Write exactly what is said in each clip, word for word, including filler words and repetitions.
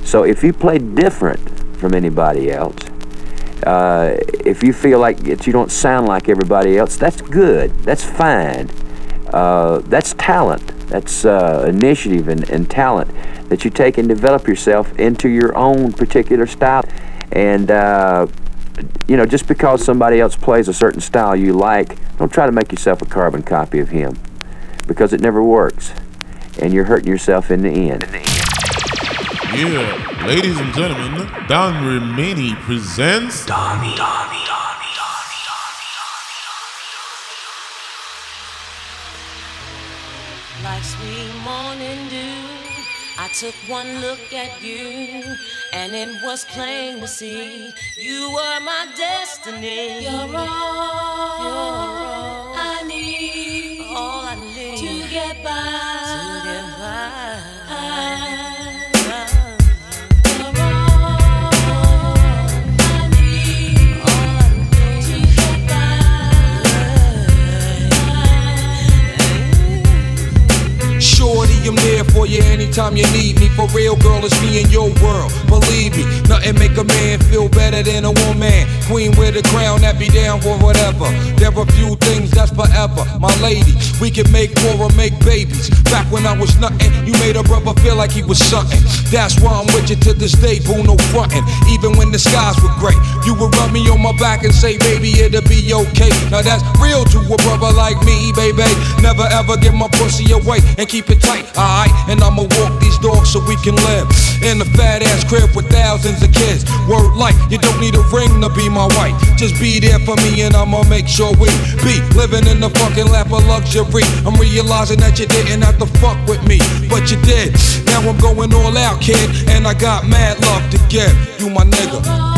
So if you play different from anybody else, uh, if you feel like that you don't sound like everybody else, that's good. That's fine. Uh, that's talent. That's uh, initiative and, and talent that you take and develop yourself into your own particular style. And uh, you know, just because somebody else plays a certain style you like, don't try to make yourself a carbon copy of him, because it never works, and you're hurting yourself in the end. Yeah, ladies and gentlemen, Don Remini presents Donnie. Donnie. Like sweet morning dew, I took one look at you, and it was plain to see you were my destiny. You're all, You're all I need, all I need to get by. To get by. I I'm there for you anytime you need me. For real, girl, it's me in your world. Believe me, nothing make a man feel better than a woman. Queen with a crown that be down for whatever. There are few things that's forever. My lady, we can make war or make babies. Back when I was nothing, you made a brother feel like he was something. That's why I'm with you to this day, boo, no frontin'. Even when the skies were gray, you would rub me on my back and say, baby, it'll be okay. Now that's real to a brother like me, baby. Never ever give my pussy away and keep it tight. Alright, and I'ma walk these dogs so we can live in a fat ass crib with thousands of kids. Word life, you don't need a ring to be my wife. Just be there for me and I'ma make sure we be living in the fucking lap of luxury. I'm realizing that you didn't have to fuck with me, but you did. Now I'm going all out, kid, and I got mad love to give. You my nigga.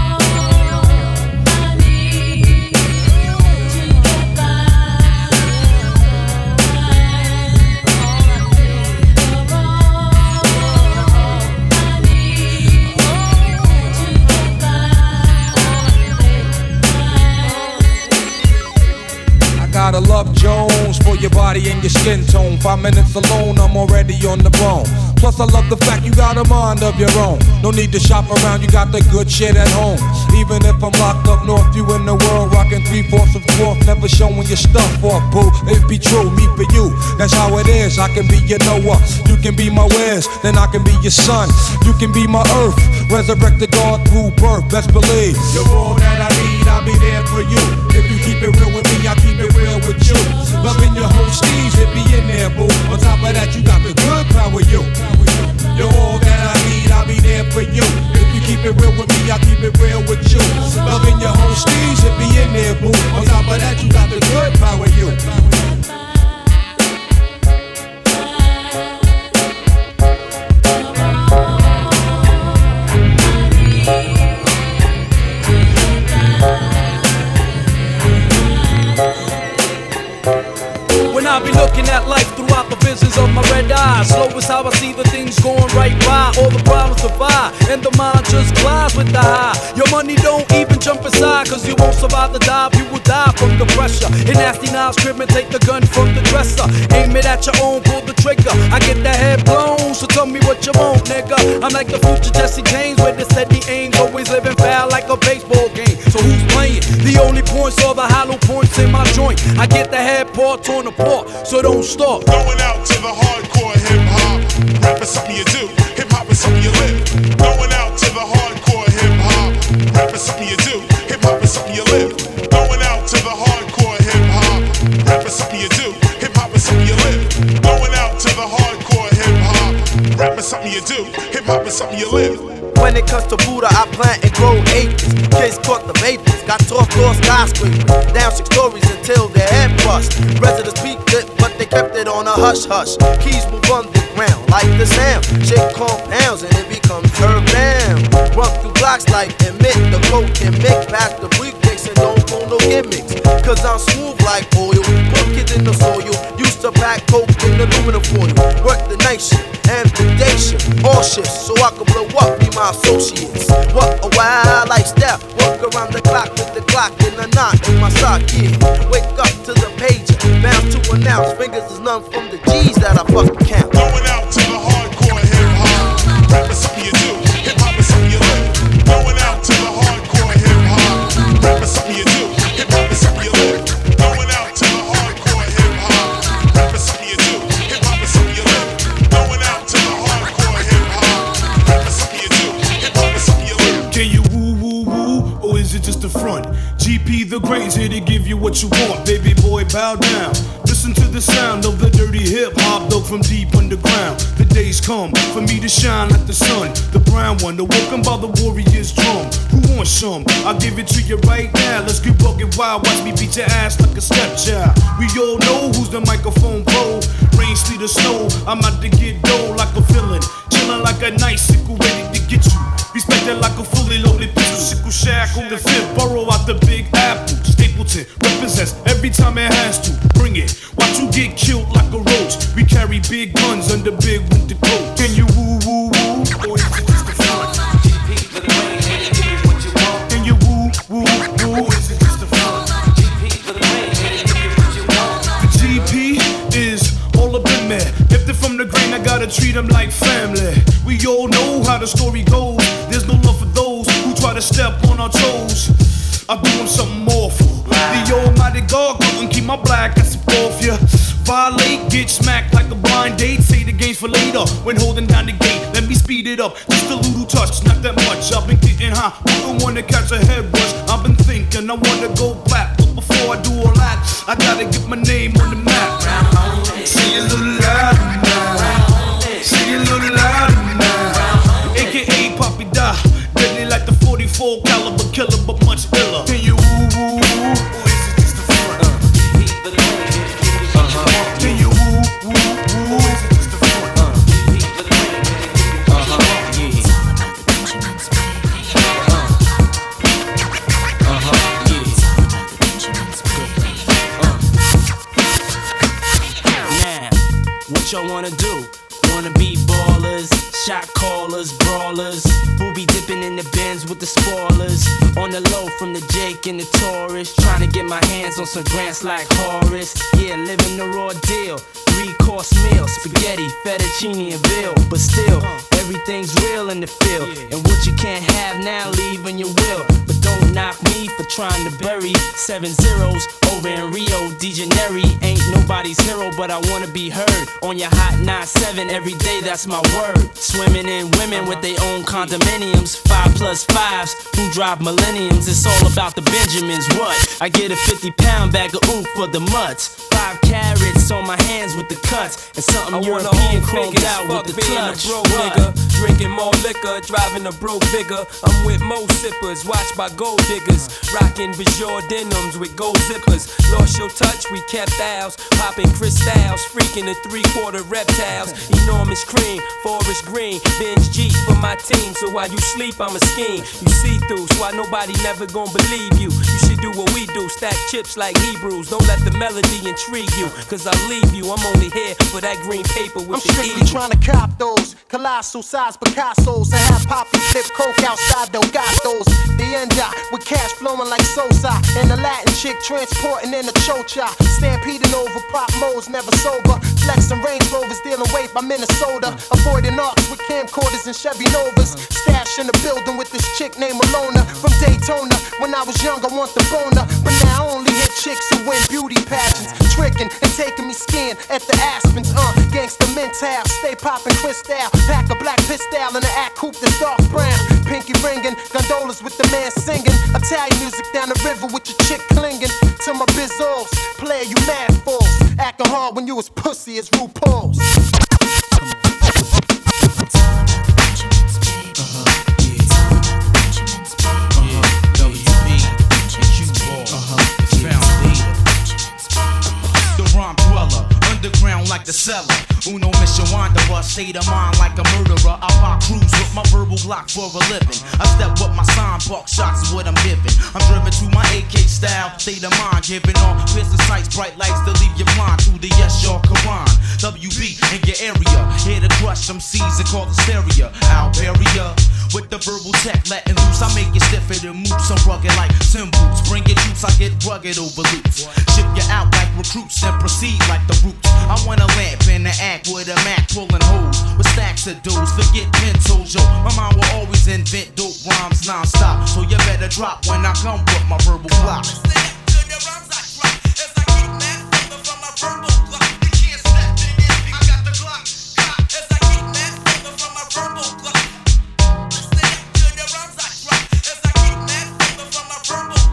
Gotta love Jones for your body and your skin tone. Five minutes alone, I'm already on the bone. Plus I love the fact you got a mind of your own. No need to shop around, you got the good shit at home. Even if I'm locked up north, you in the world rocking three-fourths of fourth. Never showing your stuff off, boo. It be true, me for you, that's how it is. I can be your Noah, you can be my Wes, then I can be your son. You can be my earth, resurrect the God through birth, best believe. You're all that I need, I'll be there for you. If you keep it real with me, I keep it real with you. Loving your whole steez, it be in there, boo. On top of that, you got the good power, you. You're all that I need, I'll be there for you. If you keep it real with me, I keep it real with you. Loving your whole steez, it be in there, boo. On top of that, you got the good power, you. I be looking at life throughout the visions of my red eyes. Slow is how I see the things going right by. All the problems survive, and the mind just glides with the high. Your money don't even jump inside, cause you won't survive the dive. You will die from the pressure. In nasty knives, crib take the gun from the dresser. Aim it at your own, pull the trigger. I get that head blown, so tell me what you want, nigga. I'm like the future Jesse James, with the steady aim. Always living foul like a baseball game. So who's playing? The only points are the hollow points in my joint. I get the head part torn apart, so don't stop. Going out to the hardcore hip-hop. Rap is something you do, hip-hop is something you live. Going out to the hardcore hip-hop. Rap is something you do, hip-hop is something you live. Going out to the hardcore hip-hop. Rap is something you do, hip-hop is something you live. Going out to the hardcore hip-hop. Rap is something you do, hip-hop is something you live. When it comes to Buddha, I plant and grow acres. Kids caught the vapors, got tossed off skyscrapers. Down six stories until their head bust. Residents peeped it, but they kept it on a hush hush. Keys move underground like the sound. Shit compounds and it becomes curved down. Run through blocks like emit the coke and make past the briefcase and don't pull no gimmicks. Cause I'm smooth like oil, put kids in the soil. Used to pack coke in aluminum foil. Work the night shift and the day shift, all shifts, so I can blow up, be my associates. What a wild lifestyle, work around the clock with the clock in the knot in my sock, yeah. Wake up to the pager, bound to announce, fingers is none from the G's that I fucking count. Going out to the hardcore hip-hop, rap is something you do. the front. G P the Great's here to give you what you want. Baby boy, bow down. Listen to the sound of the dirty hip hop dug from deep underground. The days come for me to shine like the sun. The brown one, awoken by the warrior's drum. Who wants some? I'll give it to you right now. Let's get bucket wild. Watch me beat your ass like a stepchild. We all know who's the microphone pro. Rain, sleet, or snow. I'm out to get dough like a villain. Chillin' like a nice sickle ready to get you. Respected like a fully loaded pistol. Sickle shackle, the fifth borough out the Big Apple. Stapleton represents every time it has to. Bring it. Watch you get killed like a roach. We carry big guns under big winter coats. Can you woo woo woo? Or is it just the front? Can you woo woo woo? Or is it just the front? The G P is all up in there. If they're from the grain, I gotta treat them like family. We all know how the story goes. There's no love for those who try to step on our toes. I do them something awful. The almighty God couldn't keep my black ass off ya. Violate, get smacked like a blind date. Say the game's for later when holding down the gate. Let me speed it up, just a little touch, not that much. I've been getting high, wouldn't wanna catch a head rush. I've been thinking I wanna go black, but before I do all that, I gotta get my name on the map. Say a little louder now. Say a little louder now. A K A Poppy Da, deadly like the forty-four caliber killer, but much iller. Can you woo woo woo? Or is it just the front? Uh-huh. Can you woo woo woo? Or is it just the front? Uh-huh. Uh-huh. Yeah. Now, what y'all wanna do? Wanna be ballers, shot callers, brawlers, who be dipping in the bins with the spoilers. On the low from the Jake and the Taurus, trying to get my hands on some grants like Horace. Yeah, living the raw deal, three course meal, spaghetti, fettuccine and veal. But still, everything's real in the field, and what you can't have now, leave when you will. But don't knock me for trying to bury seven zeros over in Rio de Janeiro. Ain't nobody's hero, but I wanna be heard on your hot nine seven every day, that's my word. Swimming in women with their own condominiums, five plus fives who drive millenniums. It's all about the Benjamins. What? I get a fifty pound bag of oof for the mutts. Five carrots on my hands with the cuts, and something I European chromed out with the clutch. A broke nigga, drinking more liquor, driving a broke bigger. I'm with mo sippers, watched by gold diggers, rocking Bajor denims with gold zippers. Lost your touch, we kept ours, popping crystals, freaking the three quarter reptiles. Enormous cream, forest green, binge G for my team. So while you sleep, I'm a scheme. You see through, so why nobody never gonna believe you. You should do what we do, stack chips like Hebrews. Don't let the melody intrigue you, cause I'll leave you. I'm only here for that green paper with I'm the strictly eagle. trying to cop those colossal size Picassos and have Poppy flip coke outside those gatos. The end up with cash flowing like Sosa, and the Latin chick transporting in a chocha. Stampeding over pop modes, never sober. Flexing Range Rovers, dealing weight by Minnesota. Avoiding arcs with camcorders and Chevy Novas. Stash in the building with this chick named Alona from Daytona. When I was young, I want the boner, but now I only hit chicks who win beauty pageants. Tricking and taking me skiing at the Aspens. Uh, gangsta mental, stay popping crystal. Pack a black pistol in the act coupe that's dark brown. Pinky ringing, gondolas with the man singing. Italian music down the river with your chick clinging to my bizzos. Player, you mad fools. Acting hard when you as pussy as RuPaul's. Underground like the cellar. Uno mission wanderer, state of mind like a murderer. I pop cruise with my verbal block for a living. I step up my sign, buck shots is what I'm giving. I'm driven to my A K style, state of mind, giving off piercing sights, bright lights to leave you blind to the yes, your Quran. W B in your area, here to crush some C's and call hysteria. Alberia with the verbal tech, letting loose. I make you stiffer than moops. I'm rugged like symbols. Bring it juice, I get rugged over loops. Ship you out like recruits and proceed like the roots. I want a lamp and an act with a Mac pulling holes with stacks of dudes. Forget pencils, yo. My mind will always invent dope rhymes non-stop. So you better drop when I come with my verbal block. Verbal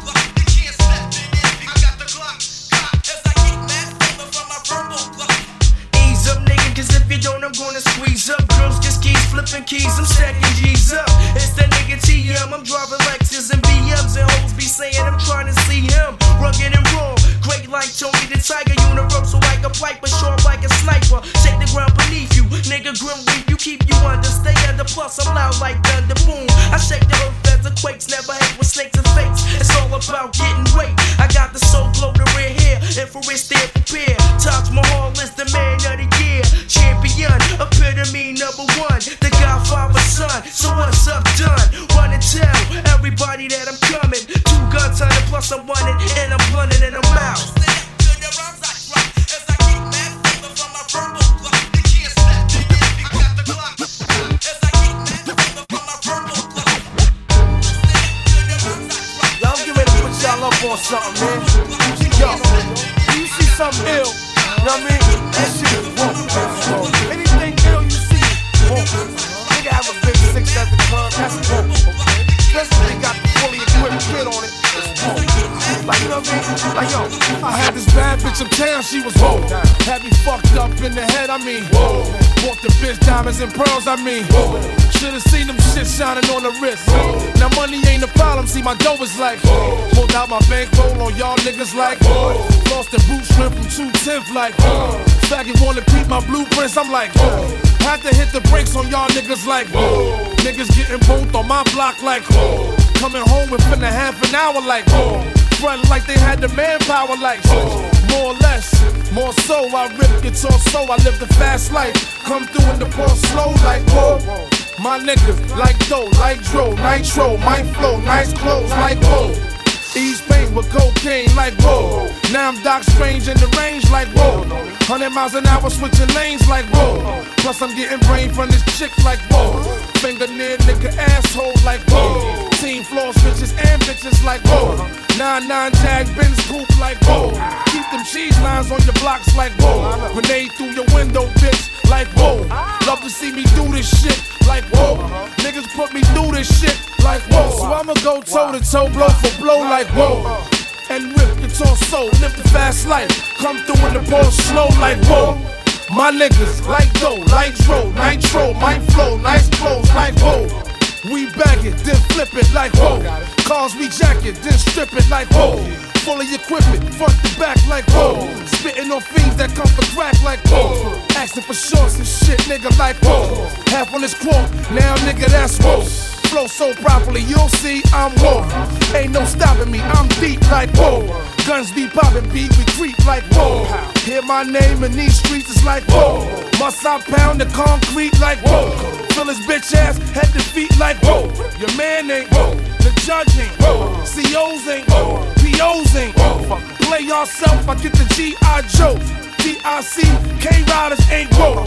I'm stacking G's up. It's that nigga T M. I'm driving Lexus and B Ms and hoes be saying I'm trying to see him. Rugged and raw, great like Tony the Tiger. Universal like a piper, sharp like a sniper. Shake the ground beneath you, nigga grim weak. You keep you under, stay under. Plus I'm loud like thunder, boom. I shake the earth as the quakes. Never hate with snakes and fakes. It's all about getting weight. I got the soul glow, the red hair, infrared stare prepared. Taj Mahal is the man of the year. Champion, epitome number one. The Godfather's son, so what's up done? Run and tell everybody that I'm coming. Two guns on it, plus I'm running, and I'm blunting and I'm out. Y'all get ready to put y'all up on something, man. Yo, you see something ill, you know what I mean? That shit is woke. Anything ill you see is woke. Nigga have a big six at the club, that's woke, okay? Especially when they got the fully equipped kid on it, it's woke. Like, you know what I mean? Like, yo, I had this bad bitch uptown, she was woke. Had me fucked up in the head, I mean, whoa. Bought the bitch diamonds and pearls, I mean, whoa. Should've seen them shit shining on the wrist. Whoa. Now money ain't a problem, see my dough is like, whoa. Pulled out my bankroll on y'all niggas like, whoa. Lost the boot shrimp from two tenth like, whoa. Faggot wanna peep my blueprints, I'm like, whoa. Had to hit the brakes on y'all niggas like, whoa. Niggas getting both on my block like, whoa. Coming home within a half an hour like, whoa. Front like they had the manpower like, whoa. More or less, more so, I rip guitar so I live the fast life. Come through in the ball slow like, whoa. My niggas like dough, like dro, nitro, my flow, nice clothes like, whoa. East Pain with cocaine like, whoa. Now I'm Doc Strange in the range like, whoa. Hundred miles an hour switching lanes like, whoa. Plus I'm getting brain from this chick like, whoa. Finger near nigga asshole like, whoa. Team floors bitches and bitches like, whoa. Nine nine Jag Benz coupe like, whoa. Keep them cheese lines on your blocks like, whoa. Grenade through your window, bitch, like, whoa. Love to see me do this shit like, whoa. Niggas put me through this shit like, whoa. So I'ma go toe to toe, blow for blow like, whoa. And rip guitar soul, live the fast life. Come through in the ball slow like, whoa. My niggas like dough, like dro, nitro, my flow, nice clothes like, whoa. We bag it, then flip it like, whoa. Cars we jack it, then strip it like, whoa. Fully equipment, front to back like, whoa. Spitting on fiends that come for crack like, whoa. Asking for shorts and shit, nigga, like, whoa. Half on this quote, now nigga, that's whoa. Flow so properly, you'll see I'm whoa. Ain't no stopping me, I'm deep like, whoa. Guns be poppin', beat, we creep like, whoa. Hear my name in these streets, it's like, whoa. Must I pound the concrete like, whoa. Fill his bitch ass, head to feet like, whoa. Your man ain't, whoa. The judge ain't, whoa. C Os ain't, whoa. P Os ain't, whoa. Play yourself, I get the G I Joe. D I C, K-Riders ain't, whoa.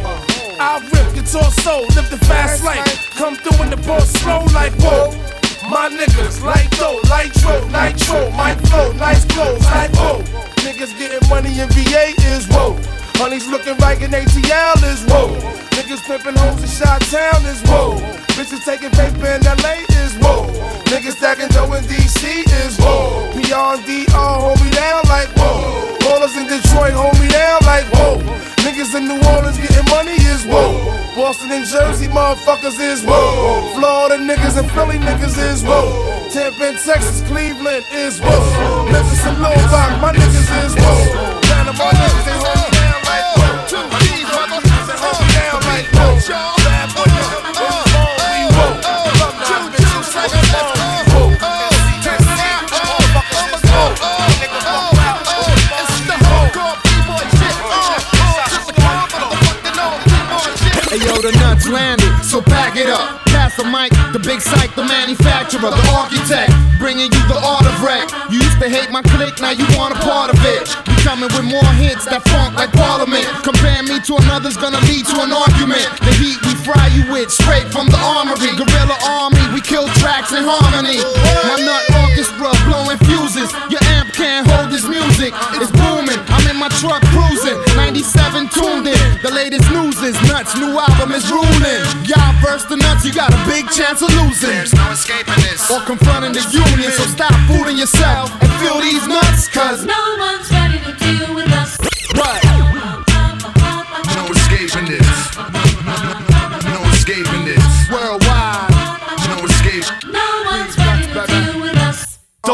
I rip guitar soul, live the fast life. Come through in the ball slow like, whoa. My niggas like dough, like dro, nitro, my flow, nice clothes like, whoa. Niggas getting money in V A is, whoa. Honey's looking right in A T L is, whoa. Niggas pimping hoes in Chi-Town is, whoa. Bitches taking paper in L A is, whoa. Niggas stacking dough in D C is, whoa. P R and D R hold me down like, whoa. Ballers in Detroit hold me down like, whoa. Niggas in New Orleans getting money is, whoa. Boston and Jersey motherfuckers is, whoa. Florida niggas and Philly niggas is, whoa. Tampa and Texas, Cleveland is, whoa. Memphis and Little Rock, my niggas is, whoa. Panama niggas, they hold me down like, whoa. Two G's, mother, they hold me down like, whoa. Bad boy, niggas, we whoa. Love nine bitches, like a ball, we whoa. Tennessee, motherfuckers is, whoa. Niggas fuck out, it's the hardcore B-boy shit, Hey yo, the nuts landed, so pack it up. Pass the mic, the big psych, the manufacturer, the architect, bringing you the art of wreck. You used to hate my clique, now you want a part of it. We coming with more hits that funk like Parliament. Compare me to another's gonna lead to an argument. The heat we fry you with, straight from the armory. Guerrilla army, we kill tracks in harmony. My nut orchestra blowing fuses. Your amp can't hold this music, it's booming. I'm in my truck cruising, ninety-seven tuned in. The latest news is nuts, new album is ruling. Y'all verse the nuts, you got a big chance of losing. There's no escaping this. Or confronting the union, so stop fooling yourself and feel these nuts, cause no one's ready to deal with us. What? No escaping this. No escaping this. Worldwide.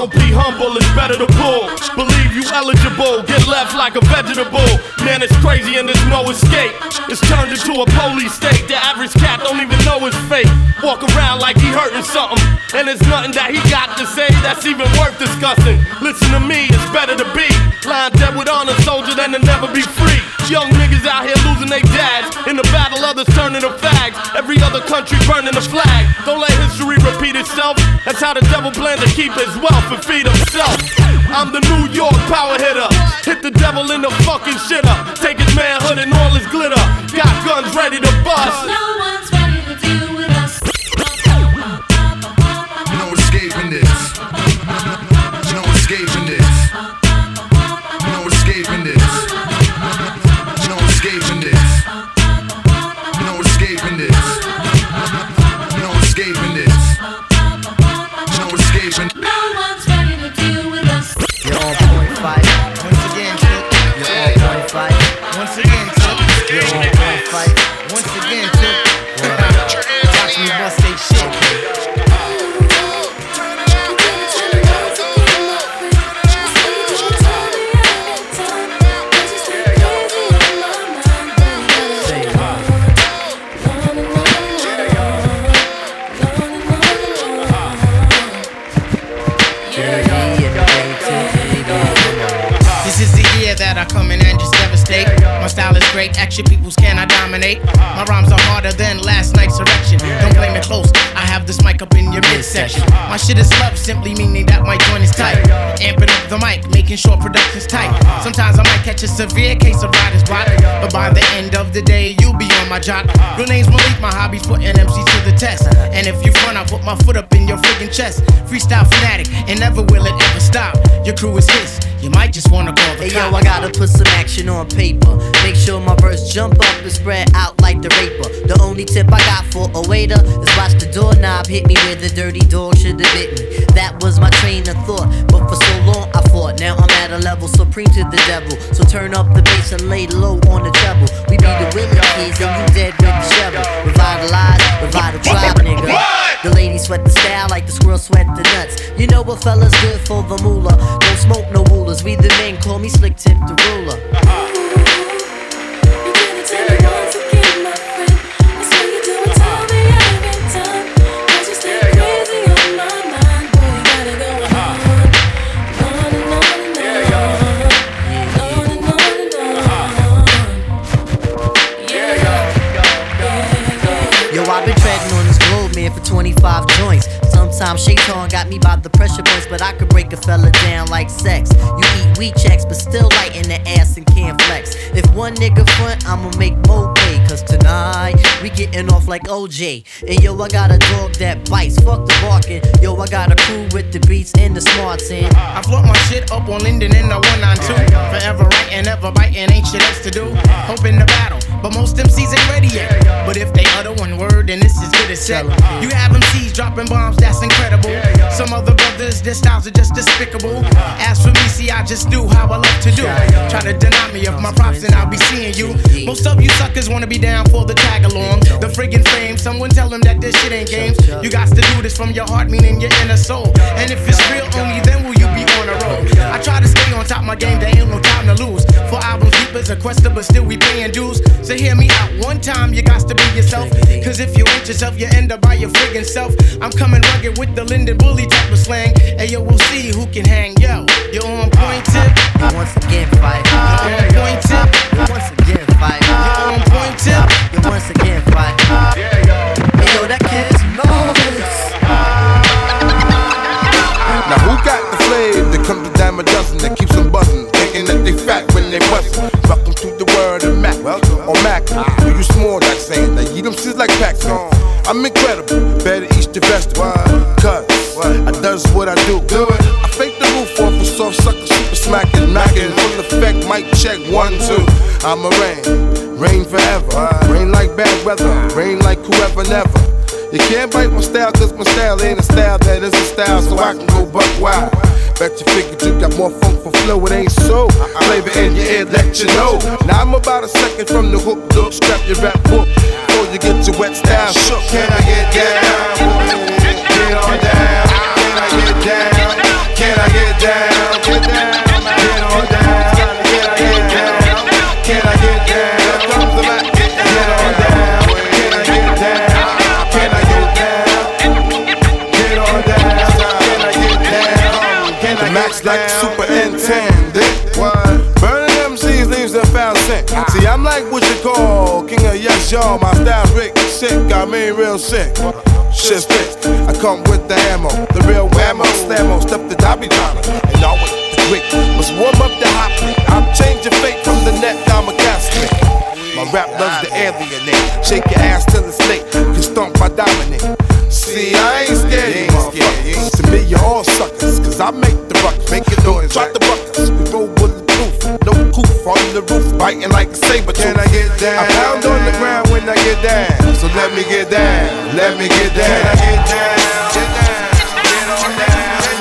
Don't be humble, it's better to pull. Believe you eligible, get left like a vegetable. Man, it's crazy and there's no escape. It's turned into a police state. The average cat don't even know his fate. Walk around like he hurting something, and there's nothing that he got to say that's even worth discussing. Listen to me, it's better to be lying dead with honor, soldier, than to never be free. Young niggas out here losing their dads. In the battle, others turning to fags. Every other country burning the flag. Don't let history repeat itself. That's how the devil plans to keep his wealth and feed himself. I'm the New York power hitter. Hit the devil in the fucking shitter. Take his manhood and all his glitter. Got guns ready to bust. No one's ready to deal with us. No escaping this. No escaping this. No escaping this. No escaping this. No escaping this. No escaping this. No escaping. No one's ready to deal with us. You're on point five. Once again, Tip. You're on point five. Once again, Tip. You're on point five. Once again, Tip. Watch me bust they shit. That I come in and just devastate. My style is great, action peoples can I dominate. My rhymes are harder than last night's erection. Don't blame it close, I have this mic up in your midsection. My shit is love, simply meaning that my joint is tight. Amping up the mic, making sure production's tight. Sometimes I might catch a severe case of writer's block, but by the end of the day, you'll be on my job. Real name's Malik, my hobby's putting M Cs to the test. And if you front, I put my foot up in your friggin' chest. Freestyle fanatic, and never will it ever stop. Your crew is his, you might just wanna call the Hey cops. yo, I gotta put some action on paper. Make sure my verse jump up and spread out like the raper. The only tip I got for a waiter is watch the doorknob hit me where the dirty dog should have bit me. That was my train of thought, but for so long I fought. Now I'm at a level supreme to the devil. So turn up the bass and lay low on the treble. We be the Willie kids and you dead with the shovel. Revitalize, revive the tribe, nigga. The ladies sweat the style like the squirrel sweat the nuts. You know what fella's good for the moolah. Don't smoke no rulers. We the men call me Slick Tip the ruler. I've been treading on this globe, man, for twenty-five joints. Sometimes Shaitan got me by the pressure points, but I could break a fella down like sex. You eat weed checks, but still light in the ass and can't flex. If one nigga front, I'ma make more pay. Cause tonight, we getting off like O J. And yo, I got a dog that bites, fuck the barking. Yo, I got a crew with the beats and the smarts in. I float my shit up on Linden in the one ninety-two. Forever writing, ever biting, ain't shit else to do. Hoping to battle, but most M Cs ain't ready yet. But if they utter one word, then this is good as set. You have M Cs dropping bombs, that's incredible. Some other brothers, their styles are just despicable. As for me, see, I just do how I love to do. Try to deny me of my props and I'll be seeing you. Most of you suckers wanna be down for the tag along. The friggin' fame, someone tell them that this shit ain't games. You got to do this from your heart, meaning your inner soul. And if it's real, only then will you be on a roll. I try to stay on top of my game, there ain't no time to lose. For albums, deep as a quester, but still we paying dues. So hear me out one time, you got to be yourself. Cause if you ain't yourself, you end up by your friggin' self. I'm coming rugged with the Linden Bully type of slang. Hey yo, we'll see who can hang. Yo, you're on point tip. You once again fight. You're on point tip. You once again fight. You're on point tip. You once again fight. Hey yo, that kid is marvelous. Now who got the flavor that comes to dime a dozen that keeps them buzzing, thinking that they fat when they bustin'? Welcome to the world of Mac, or Mac. Do you small like saying that? You them shit like packs on. I'm incredible, better eat the vegetable. Cause I does what I do. I fake the roof off a soft sucker, super smacking, knocking, full effect, mic check, one, two. I'm a rain, rain forever. Rain like bad weather, rain like whoever never. You can't bite my style, cause my style ain't a style that is a style, so I can go buck wild. Bet you figured you got more funk for flow, it ain't so. Flavor in your ear, let you know. Now I'm about a second from the hook, look, scrap your rap book before you get your wet style shook. Can I get down? Get on down. Can I get down? Can I Looks like a superintendent. What? Burning M Cs leaves them found scent. See, I'm like what you call king of yes, y'all. My style Rick sick, got me real sick. Shit's thick. I come with the ammo, the real whammo, slammo, step the dobby dollar. And always the quick, must warm up the hot plate. I'm changing fate from the net down my casket. My rap loves to alienate. Shake your ass till it's late. Can stomp my dominate. See, I ain't scared, you motherfuckers. To me, you're all suckers. Cause I make the ruckus. Make it noise. Drop the buckets. We roll bulletproof. No coof on the roof. Biting like a saber tooth. Can I get down? I pound on the ground when I get down. So let me get down. Let me get down. Can I get down? Get down. Get on down.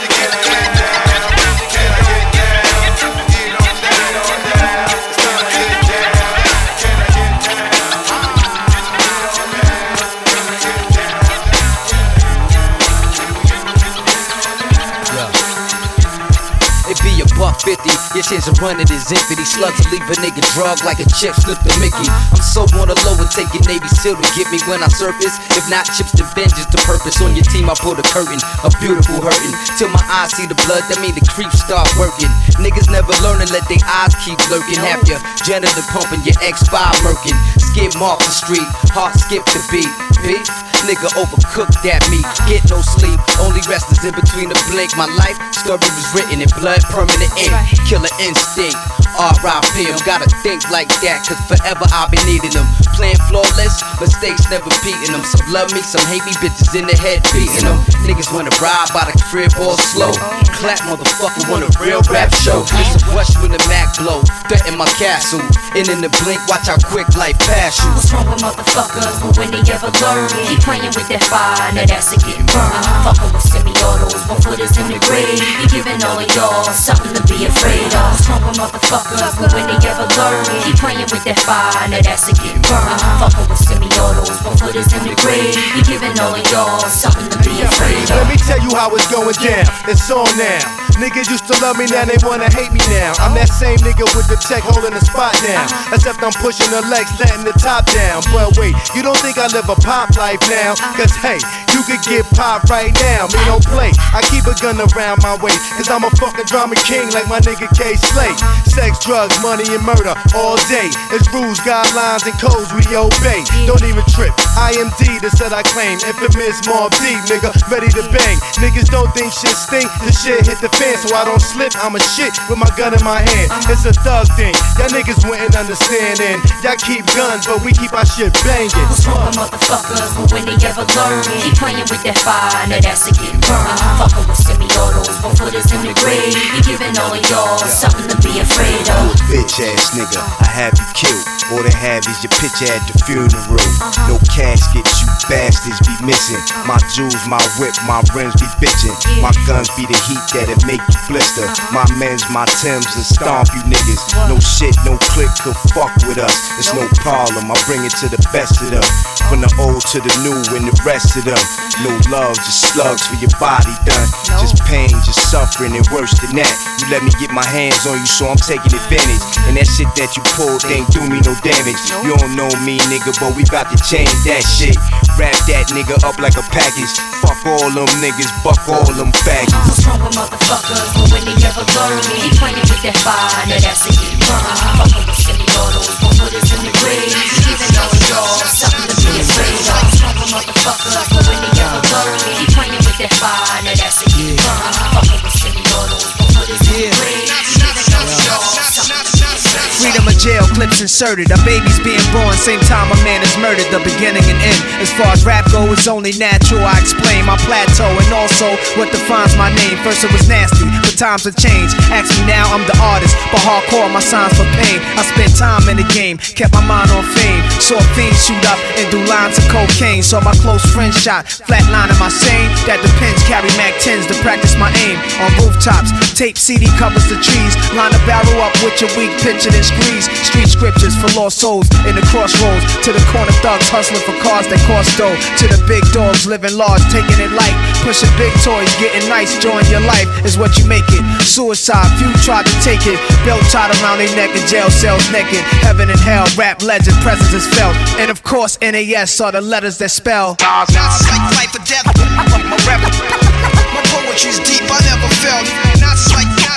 fifty, your chance of running is infinity. Slugs will leave a nigga drug like a chip slip the Mickey. I'm so on the low and taking Navy SEAL to get me when I surface. If not chips to vengeance to purpose. On your team I pull the curtain, a beautiful hurting. Till my eyes see the blood, that mean the creeps start working. Niggas never learning, let their eyes keep lurking. Have your janitor pumping, your X five murking. Skip off the street, heart skip the beat. Beef, nigga overcooked that meat. Get no sleep, only rest is in between the blink. My life story was written in blood, permanent ink. Killer instinct, R I P em. Gotta think like that, cause forever I'll be needing them. Playing flawless, mistakes never beating them. Some love me, some hate me, bitches in the head beating them. Niggas wanna ride by the crib all slow. Clap motherfucker want a real rap show. It's a rush when the Mac blow, threaten my castle. And in the blink, watch how quick life pass you. What's wrong with motherfuckers, but when they ever learn, keep playing with that fire, that ass is getting burned. Fucking with semi-autos, one footers in the grave. You giving all of y'all something to be afraid of. What's wrong with motherfuckers, but when they ever learn, keep playing with that fire, that ass is getting burned. Fucking with semi-autos, one footers in the grave. You giving all of y'all something to be afraid of. Let me tell you how it's going down. It's on now. Niggas used to love me, now they wanna hate me now. I'm that same nigga with the check holding the spot down. Except I'm pushing the legs, letting the top down. But wait, you don't think I live a pop life now? Cause hey, you could get popped right now. Me don't play, I keep a gun around my waist. Cause I'm a fucking drama king like my nigga K Slate. Sex, drugs, money, and murder all day. It's rules, guidelines, and codes we obey. Don't even trip, I am D, that's what I claim. Infamous Mob D, nigga, ready to bang. Niggas don't think shit stink, the shit hit the fan. So I don't slip, I'm a shit with my gun in my hand. It's a thug thing, y'all niggas wouldn't understand. And y'all keep guns, but we keep our shit banging. What's wrong with motherfuckers, but when they ever learn, keep playing with that fire, that ass is getting burned. Fucking with semi-autos, one footers in the grave. You giving all of y'all something to be afraid of. Bitch ass nigga, I have you killed. All they have is your picture at the funeral. No caskets, you bastards be missing. My jewels, my whip, my rims be bitching. My guns be the heat that'll make you blister. My men's, my Timbs will stomp you niggas. No shit, no click could fuck with us. It's no problem, I bring it to the best of them. From the old to the new and the rest of them. No love, just slugs for your body done. Just pain, just suffering and worse than that. You let me get my hands on you, so I'm taking advantage. And that shit that you pulled ain't do me no damage. You don't know me, nigga, but we bout to change that shit. Wrap that nigga up like a package. Fuck all them niggas, buck all them faggots. What's wrong with motherfuckers, but when they ever learn, keep playing with that fire, that ass is getting burned. Fucking with semi-autos, one footers in the grave. You giving all of y'all something to be afraid of. What's wrong with motherfuckers, but when they ever learn, keep playing with that fire, that ass is getting burned. Fucking with semi-autos, one footers in the grave. You giving all of y'all something to be afraid of. Freedom of jail, clips inserted. A baby's being born, same time a man is murdered. The beginning and end. As far as rap go, it's only natural. I explain my plateau and also what defines my name. First it was nasty, but times have changed. Ask me now, I'm the artist, but hardcore, my signs for pain. I spent time in the game, kept my mind on fame. Saw fiends shoot up and do lines of cocaine. Saw my close friend shot, flatlining my sane. That depends, carry Mac tens to practice my aim. On rooftops, tape C D covers the trees. Line a barrel up with your weak picture and squeeze. Street scriptures for lost souls in the crossroads. To the corner thugs hustling for cars that cost dough. To the big dogs living large, taking it light. Pushing big toys, getting nice, join your life is what you make it. Suicide, few tried to take it. Belt tied around their neck in jail cells naked. Heaven and hell, rap legend, presence is felt. And of course N A S are the letters that spell. Not like life or death, my rap, my poetry's deep, I never felt. Not like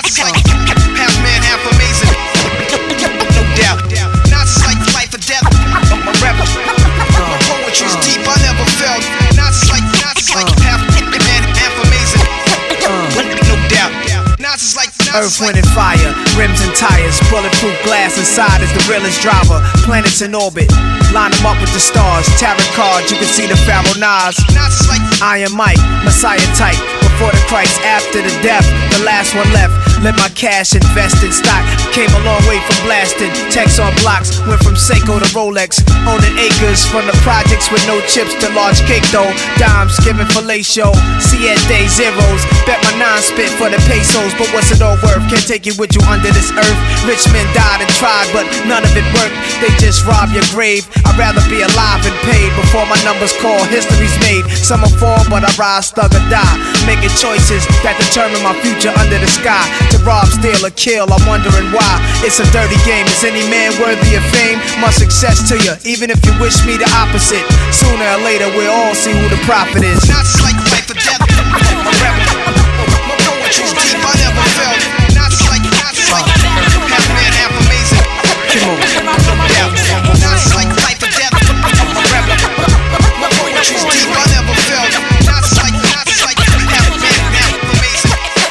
Earth, wind, and fire, rims and tires, bulletproof glass inside is the realest driver. Planets in orbit, line them up with the stars. Tarot cards, you can see the Pharaoh Nas. Iron Mike, Messiah type. Before the Christ, after the death, the last one left. Let my cash invest in stock. Came a long way from blasting. Text on blocks, went from Seiko to Rolex. Owning acres from the projects with no chips to large cake though. Dimes giving fellatio, siete zeros. Bet my nine spit for the pesos, but what's it all worth? Can't take it with you under this earth. Rich men died and tried, but none of it worked. They just rob your grave. I'd rather be alive and paid before my numbers call. History's made. Some will fall, but I rise, thug or die. Making choices that determine my future under the sky. To rob, steal, or kill, I'm wondering why. It's a dirty game. Is any man worthy of fame? Much success to you, even if you wish me the opposite. Sooner or later, we'll all see who the prophet is. Not like life or death. I'm a rebel. My poetry's deep, I never felt. Not like, not like half man, half amazing. Come on, yeah. Not like life or death. I'm a rebel. My poetry's deep, I never felt. Not like, not like half man, half amazing.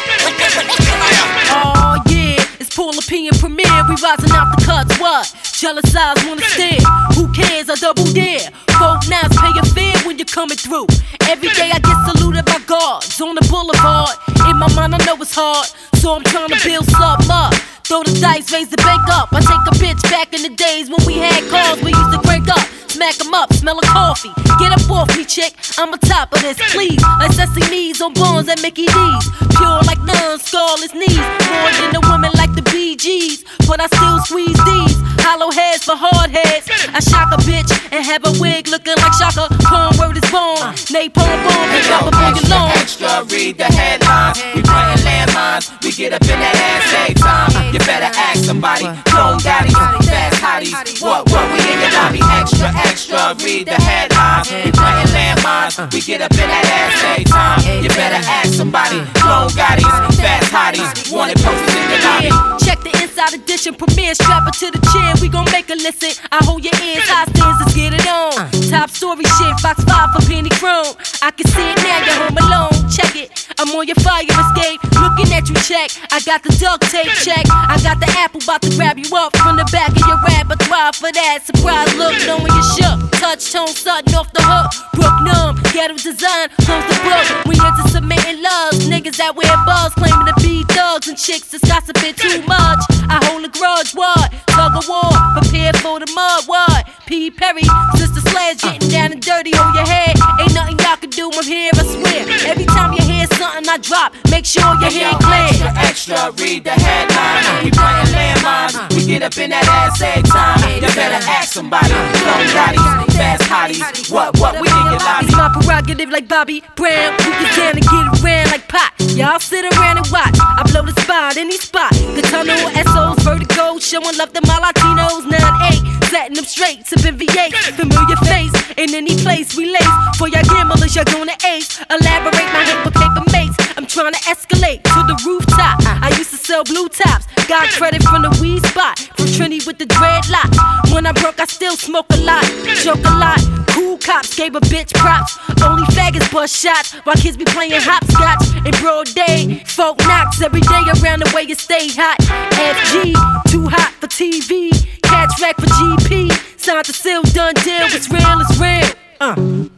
Oh yeah, it's Paul Opinion Premiere. We rising out the cuts. What? Jealous eyes wanna stare. Who cares? I double dare. Folk now pay your fare when you're coming through. Every day I get saluted by guards on the boulevard. In my mind I know it's hard, so I'm trying to build something up. Throw the dice, raise the bank up. I take a bitch back in the days when we had cars we used to crank up. Smack 'em up, smell of coffee. Get up off me, chick, I'm on top of this, please. Like Sesame's on Bonds at Mickey D's. Pure like none, scarless knees. More than a woman like the Bee Gees. But I still squeeze these. Hollow heads for hard heads. I shock a bitch and have a wig looking like Shaka. Corn word is born. Napalm bomb and drop up on your lawn. Extra, read the headlines. We playing landmines. We get up in that ass every time. You better ask somebody. Clone daddies, fast hotties. What, what, we in your lobby. Extra, extra, read the headlines. We playing landmines. We get up in that ass every time. You better ask somebody. Clone daddies, fast hotties. Wanted posters in your lobby. Check the inside edition, premiere, strap it to the chair. We gon' make a listen. I hold your ears, high stands, let's get it on. Top story shit, Fox five for Penny Chrome. I can see it now, you're home alone. Check it, I'm on your fire escape. Looking at you, check. I got the duct tape, check. I got the apple, about to grab you up from the back of your repertoire for that surprise look, knowing you shook. Touch tone, sudden off the hook. Brook numb, ghetto design, close the book. We into submitting loves, niggas that wear bugs, claiming to be thugs and chicks that's gossiping too much. I hold a grudge, what? Tug of war, prepare for the mud, what? P. Perry, Sister Sledge, getting down and dirty, hold your head. Ain't nothing y'all can do, I'm here, I swear. Every time you hear something I drop, make sure your head clear. Extra, extra, read the headlines. We playing landmines. We get up in that ass every time. You better ask somebody. Clone daddies, fast hotties. What, what, we in your lobby. It's my prerogative like Bobby Brown. You get down and get around like Pop. Y'all sit around and watch. I blow the spot, any spot. The tunnel, S Os, vertigo, showing love to my Latinos. nine eight, setting them straight, sipping V eight. Familiar face, in any place we lace. For y'all gamblers, y'all gonna ace. Elaborate my hate with paper mates. I'm trying to escalate to the rooftop. I used to sell blue tops. Got credit from the weed spot. From Trini with the dreadlock. When I broke, I still smoke a lot. Joke a lot. Cool cops gave a bitch props. Only faggots bust shots while kids be playing hopscotch in broad day. Folk knocks every day around the way you stay hot. F G, too hot for T V. Catch rack for G P. Signed the seal, done deal. It's real, it's real. Uh.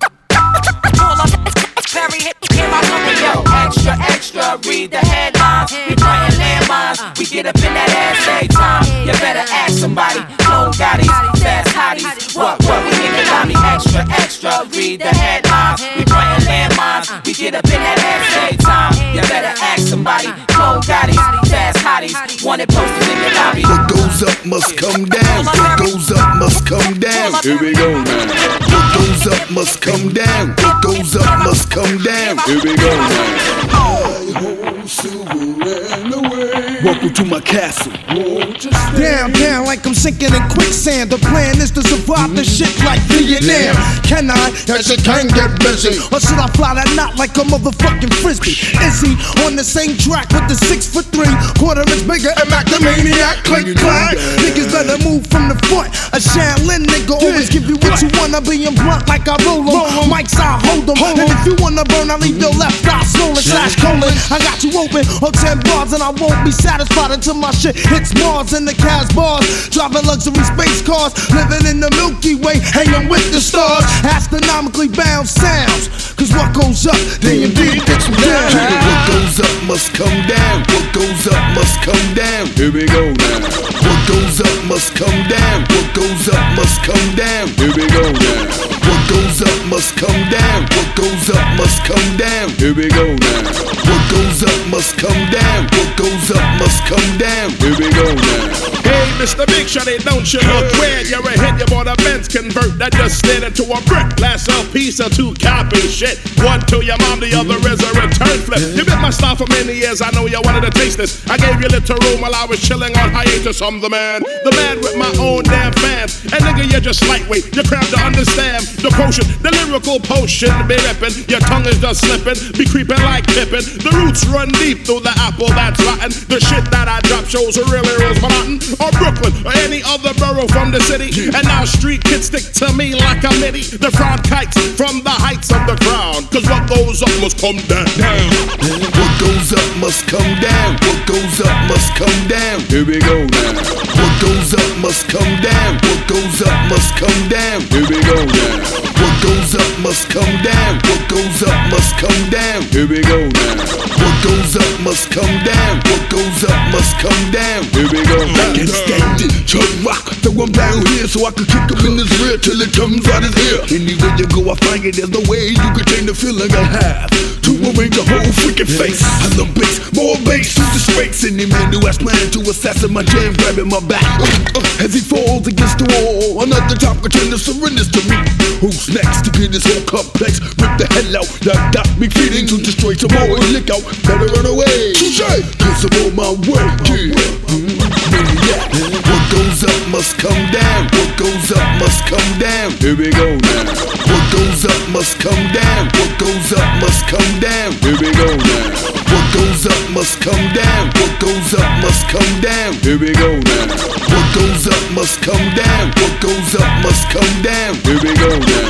Perry, hit, hit my number, yo. Extra, extra, read the headlines. We playing landmines. We get up in that ass every time. You better ask somebody. Clone daddies, fast hotties. What, what, we in the lobby. Extra, extra, read the headlines. We playing landmines. We get up in that ass every time. You better ask somebody. Clone daddies, fast hotties. Wanted posters in the lobby. What goes up must come down. What goes up must come down. Here we go now. What goes up must come down. What goes up must come down. Here we go now. I hold silver and away. Welcome to my castle. Down, down like I'm sinking in quicksand. The plan is to survive the shit like Vietnam. Can I? Yes, it can get busy. Or should I fly that knot like a motherfucking frisbee? Is he on the same track with the six foot three, quarter inch bigger and Mac the maniac? Click clack. Niggas better move from the front. A Shaolin nigga always give you what you wanna. Being blunt like I roll 'em. Mics I hold 'em. And if you wanna burn, I leave your left eye swollen slash colon. I got you open on ten bars and I won't be satisfied until my shit hits Mars and the Cas bars. Driving luxury space cars, living in the Milky Way, hanging with the stars. Astronomically bound sounds, cause what goes up, D M D gets you down. What goes up must come down. What goes up must come down. Here we go now. What goes up must come down. What goes up must come down. Here we go now. What goes up must come down. What goes up must come down. Here we go now. What goes up must come down. What goes up must come down. Here we go now. Hey, Mister Big Shotty, don't you look weird? You're a hit, you bought a Benz convert that just slid into a brick. Last L P, sell two copy shit. One to your mom, the other is a return flip. You been my style for many years, I know you wanted to taste this. I gave you little room while I was chilling on hiatus. I'm the man, the man with my own damn fans. And nigga, you're just lightweight, you're cramped to understand. The potion, the lyrical potion, be ripping. Your tongue is just slipping, be creeping like Pippin. The roots run deep through the apple that's rotten. The shit that I drop shows are really Rose Mountain or Brooklyn or any other borough from the city. And now street kids stick to me like a midi. The frown kites from the heights of the crown. Cause what goes up must come down. What goes up must come down. What goes up must come down. Here we go now. What goes up must come down. What goes up must come down. Here we go now. What goes up must come down. What goes up must come down. Here we go now. What goes up must come down. What goes up must come down. Here we go now. I can stand it, chug rock, throw him down here so I can kick him in his rear till it comes out his ear. Anywhere you go, I find it. There's no way you can change the feeling I have to arrange a whole freaking face. I love bass, more bass, who's disgrace. Any man who has planned to assassinate my jam, grabbing my back uh, uh, as he falls against the wall. Another top contender surrenders to me. Who's next to get his whole complex? Rip the hell out, that got me feeding to destroy tomorrow and lick out. Better run away. Touché, cause I'm on my way. Yeah. Yeah. What goes up must come down. What goes up must come down. Here we go now. What goes up must come down. What goes up must come down. Here we go now. What goes up must come down. What goes up must come down. Here we go now. What goes up must come down. What goes up must come down. Here we go now.